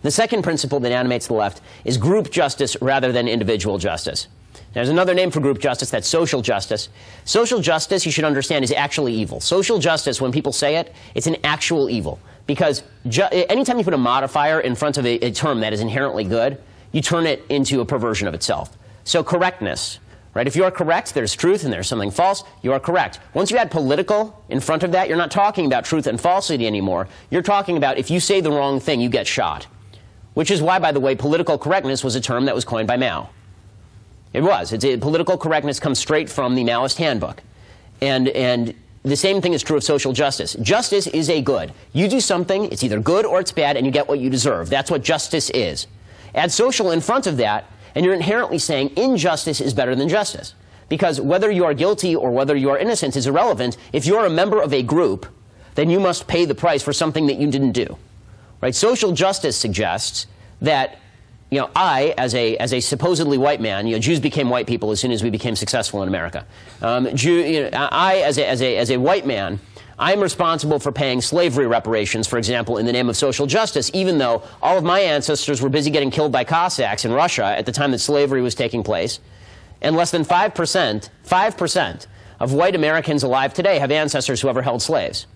The second principle that animates the left is group justice rather than individual justice. There's another name for group justice, that's social justice. Social justice, you should understand, is actually evil. Social justice, when people say it, it's an actual evil. Because anytime you put a modifier in front of a term that is inherently good, you turn it into a perversion of itself. So correctness, right? If you are correct, there's truth and there's something false, you are correct. Once you add political in front of that, you're not talking about truth and falsity anymore. You're talking about if you say the wrong thing, you get shot. Which is why, by the way, political correctness was a term that was coined by Mao. It was. Political correctness comes straight from the Maoist handbook. And the same thing is true of social justice. Justice is a good. You do something, it's either good or it's bad, and you get what you deserve. That's what justice is. Add social in front of that, and you're inherently saying injustice is better than justice. Because whether you are guilty or whether you are innocent is irrelevant. If you're a member of a group, then you must pay the price for something that you didn't do. Right? Social justice suggests that, I, as a supposedly white man, Jews became white people as soon as we became successful in America. I, as a white man, I'm responsible for paying slavery reparations, for example, in the name of social justice, even though all of my ancestors were busy getting killed by Cossacks in Russia at the time that slavery was taking place. And less than 5% of white Americans alive today have ancestors who ever held slaves.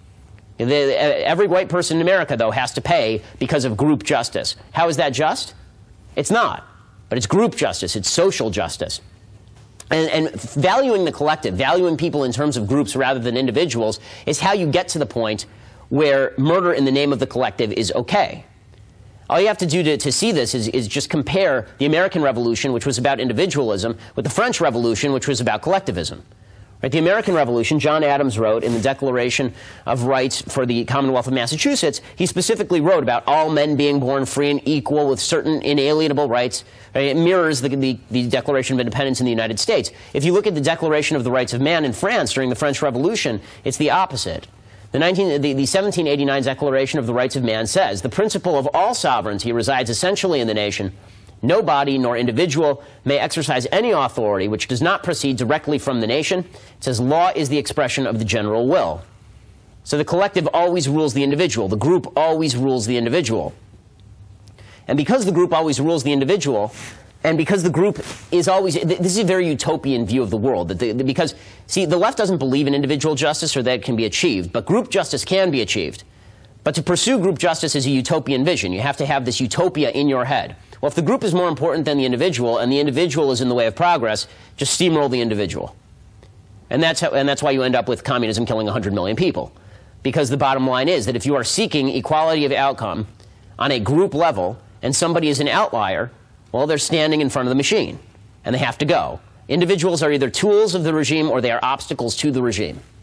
Every white person in America, though, has to pay because of group justice. How is that just? It's not. But it's group justice. It's social justice. And valuing the collective, valuing people in terms of groups rather than individuals, is how you get to the point where murder in the name of the collective is okay. All you have to do to see this is just compare the American Revolution, which was about individualism, with the French Revolution, which was about collectivism. Right? The American Revolution, John Adams wrote in the Declaration of Rights for the Commonwealth of Massachusetts, he specifically wrote about all men being born free and equal with certain inalienable rights. Right? It mirrors the Declaration of Independence in the United States. If you look at the Declaration of the Rights of Man in France during the French Revolution, it's the opposite. The 1789 Declaration of the Rights of Man says, the principle of all sovereignty resides essentially in the nation. No body nor individual may exercise any authority which does not proceed directly from the nation. It says law is the expression of the general will. So the collective always rules the individual. The group always rules the individual. And because the group always rules the individual, and because the group is always, this is a very utopian view of the world. Because, see, the left doesn't believe in individual justice or that it can be achieved, but group justice can be achieved. But to pursue group justice is a utopian vision. You have to have this utopia in your head. Well, if the group is more important than the individual, and the individual is in the way of progress, just steamroll the individual. And that's why you end up with communism killing 100 million people. Because the bottom line is that if you are seeking equality of outcome on a group level, and somebody is an outlier, well, they're standing in front of the machine, and they have to go. Individuals are either tools of the regime or they are obstacles to the regime.